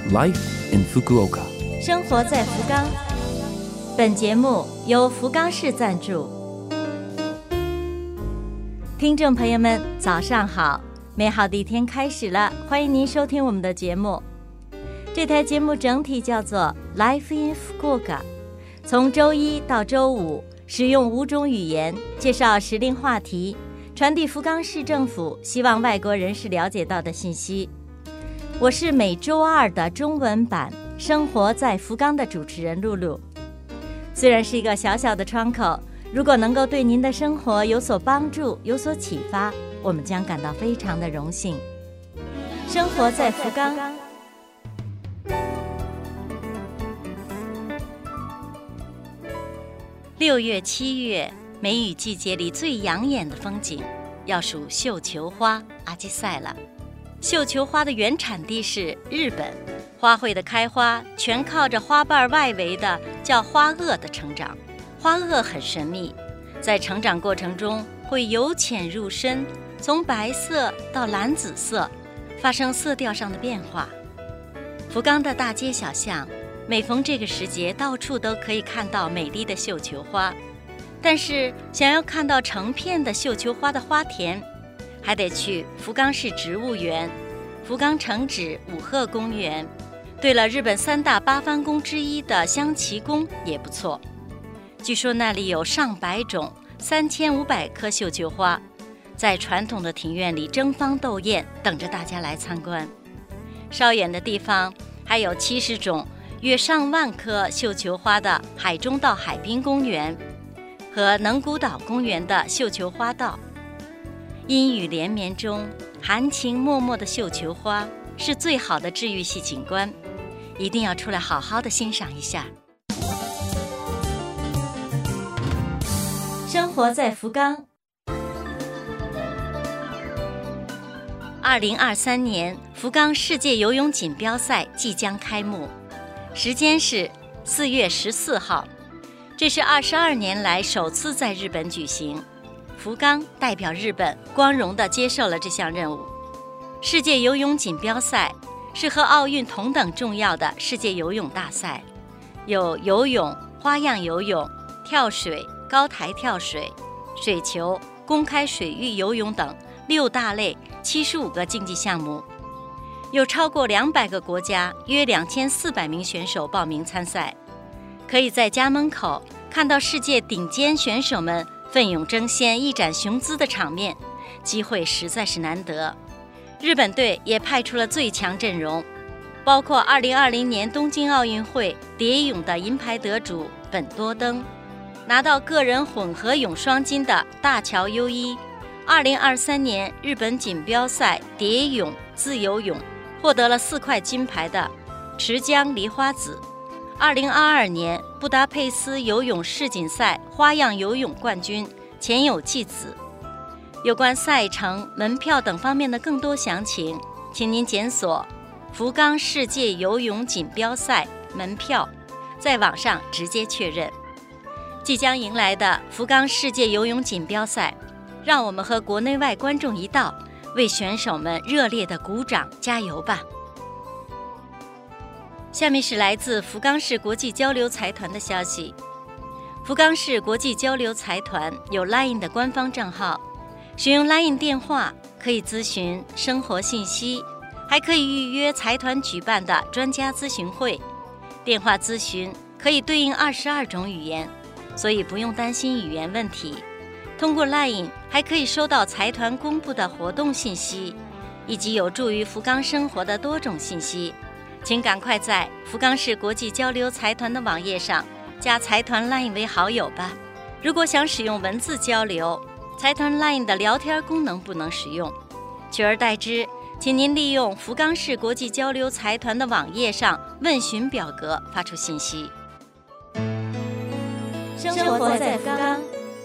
Life in Fukuoka， 生活在福冈。本节目由福冈市赞助。听众朋友们，早上好！美好的一天开始了，欢迎您收听我们的节目。这台节目整体叫做 Life in Fukuoka， 从周一到周五，使用5种语言介绍时令话题，传递福冈市政府希望外国人士了解到的信息。我是每周二的中文版《生活在福冈》的主持人露露。虽然是一个小小的窗口，如果能够对您的生活有所帮助、有所启发，我们将感到非常的荣幸。生活在福冈。6月、7月，梅雨季节里最养眼的风景，要数绣球花阿基塞了。绣球花的原产地是日本，花卉的开花全靠着花瓣外围的叫花萼的成长。花萼很神秘，在成长过程中会由浅入深，从白色到蓝紫色，发生色调上的变化。福冈的大街小巷，每逢这个时节，到处都可以看到美丽的绣球花。但是想要看到成片的绣球花的花田，还得去福冈市植物园、福冈城址五鹤公园。对了，日本3大八幡宫之一的香崎宫也不错。据说那里有上百种、3500棵绣球花，在传统的庭院里争芳斗艳，等着大家来参观。稍远的地方还有70种、约上万棵绣球花的海中道海滨公园和能古岛公园的绣球花道。阴雨连绵中，含情脉脉的绣球花是最好的治愈系景观，一定要出来好好的欣赏一下。生活在福冈。2023年福冈世界游泳锦标赛即将开幕，时间是4月14号，这是22年来首次在日本举行。福冈代表日本光荣地接受了这项任务。世界游泳锦标赛是和奥运同等重要的世界游泳大赛，有游泳、花样游泳、跳水、高台跳水、水球、公开水域游泳等6大类75个竞技项目，有超过200个国家约2400名选手报名参赛，可以在家门口看到世界顶尖选手们奋勇争先、一展雄姿的场面，机会实在是难得。日本队也派出了最强阵容，包括2020年东京奥运会蝶泳的银牌得主本多灯，拿到个人混合泳双金的大桥优一，2023年日本锦标赛蝶泳、自由泳获得了4块金牌的池江梨花子，2022年布达佩斯游泳世锦赛花样游泳冠军前有纪子。有关赛程、门票等方面的更多详情，请您检索福冈世界游泳锦标赛门票，在网上直接确认。即将迎来的福冈世界游泳锦标赛，让我们和国内外观众一道，为选手们热烈的鼓掌加油吧。下面是来自福冈市国际交流财团的消息。福冈市国际交流财团有 LINE 的官方账号，使用 LINE 电话可以咨询生活信息，还可以预约财团举办的专家咨询会。电话咨询可以对应22种语言，所以不用担心语言问题。通过 LINE 还可以收到财团公布的活动信息，以及有助于福冈生活的多种信息。请赶快在福冈市国际交流财团的网页上加财团 LINE 为好友吧。如果想使用文字交流，财团 LINE 的聊天功能不能使用，取而代之，请您利用福冈市国际交流财团的网页上问询表格发出信息。生活在福冈。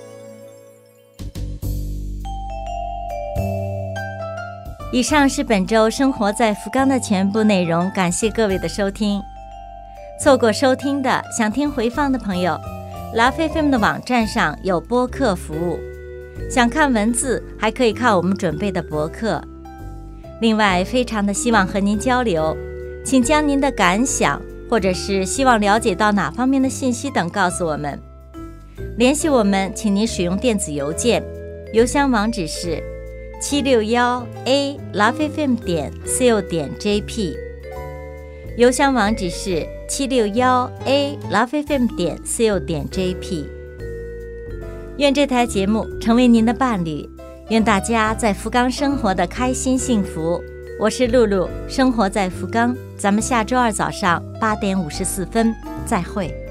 以上是本周生活在福冈的全部内容，感谢各位的收听。错过收听的，想听回放的朋友， Love FM 的网站上有播客服务，想看文字还可以看我们准备的博客。另外非常的希望和您交流， 请将您的感想或者是希望了解到哪方面的信息等告诉我们。联系我们，请您使用电子邮件，邮箱网址是761a.lovefm.co.jp， 邮箱网址是761a.lovefm.co.jp。 愿这台节目成为您的伴侣，愿大家在福冈生活的开心幸福。我是露露，生活在福冈，咱们下周二早上8点54分再会。